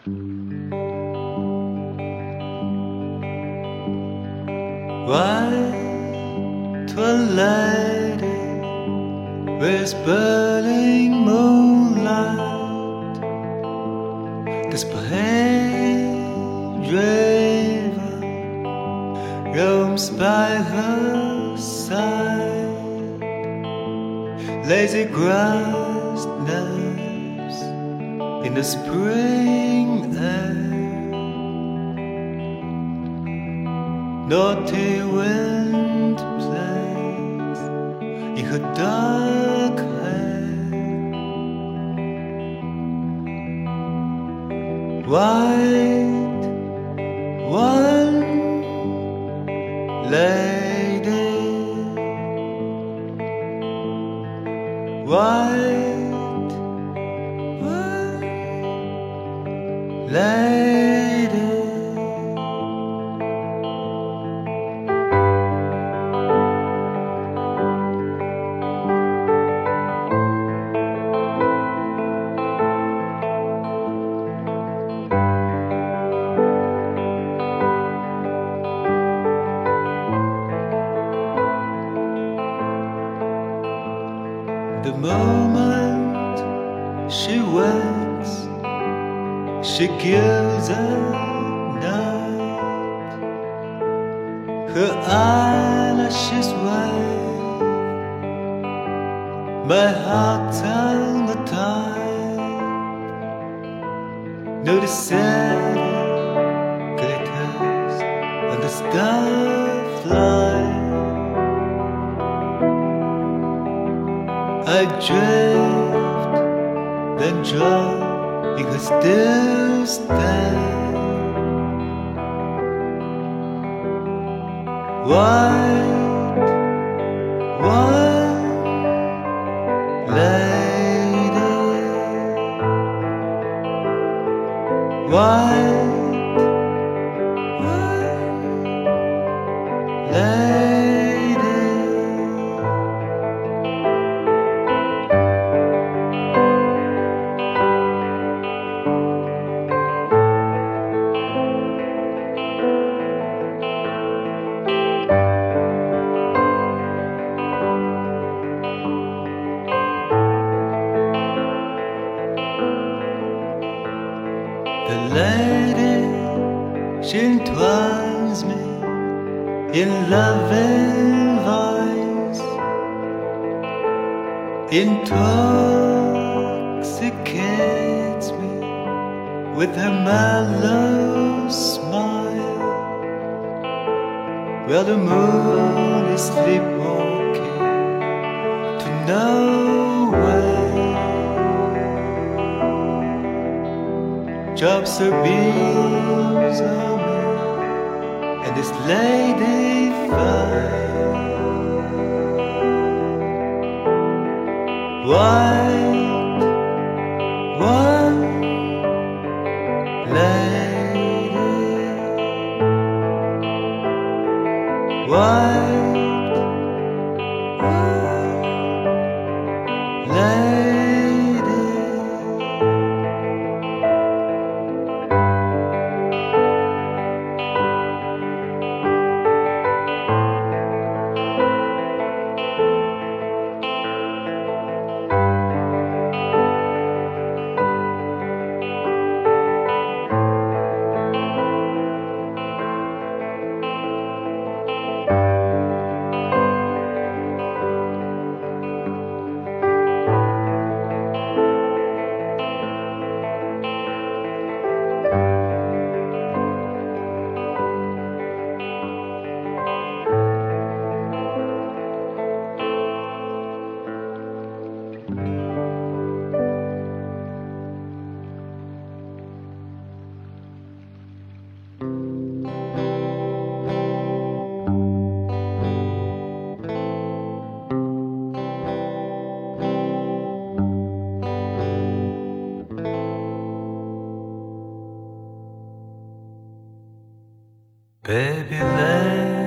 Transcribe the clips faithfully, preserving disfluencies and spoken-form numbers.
White twilight with burning moonlight, this pale river roams by her side. Lazy grass naps in the spring air. Naughty wind plays in her dark hair. White one lady, white one lady. The moment she wakes, she gives a night. Her eyelashes wave, my heart tongue-tied. No, the city glitters on the starflight. I drift, then drop in her still stand. White, white lady, white, white lady. The lady, she entwines me in loving voice, intoxicates me with her mellow smile, while the moon is sleepwalking to nowhere. Drops her beams on me, and this lady fire. White, one lady, white, one lady. Baby, lay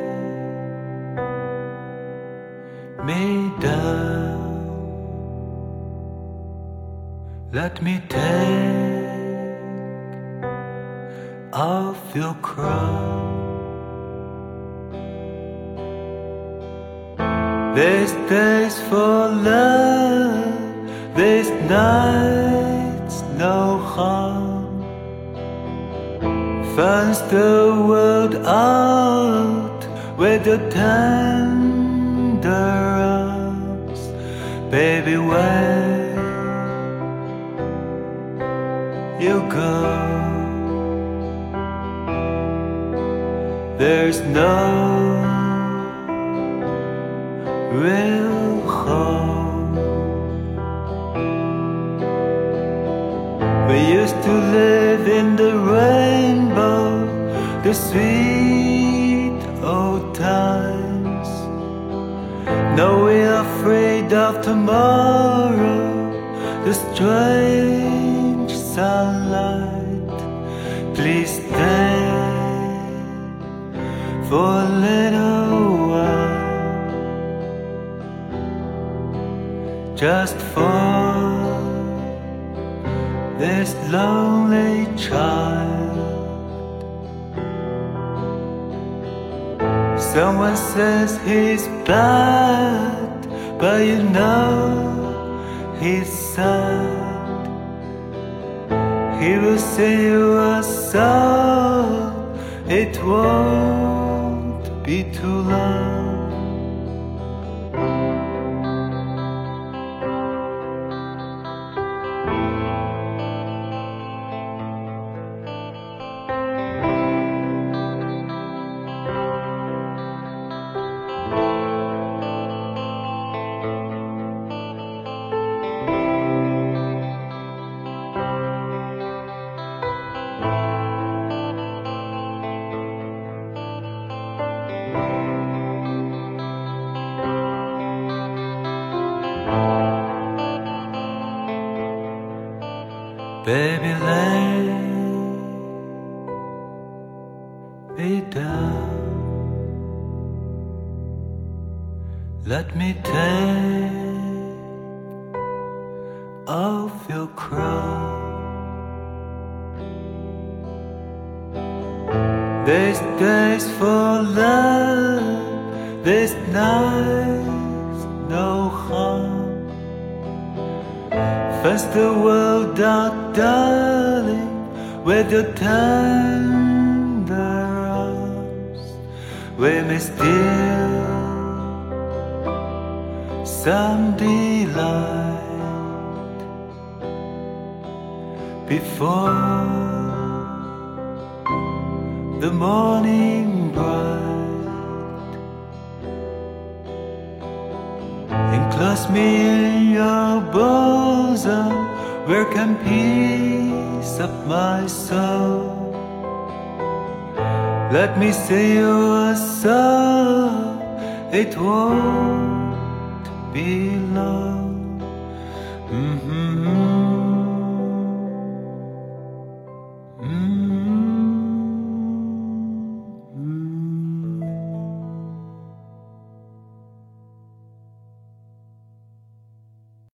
me down. Let me take of your crown. There's days for love, there's nights no harm. Finds the world out with your tender arms. Baby, where you go, there's no real home. We used to live in the rainbow, the sweet old times. Now we're afraid of tomorrow, the strange sunlight. Please stay for a little while, just for this lonely child. Someone says he's bad, but you know he's sad. He will sing you a song, it won't be too long. Baby, lay me down. Let me take off your crown. There's days for love, there's nights no harm. Fence the world out, darling, with your tender arms. We may steal some delight before the morning bright. Enclose me in your bosom, where can peace of my soul? Let me sing you a song, it won't be long. Mm-hmm.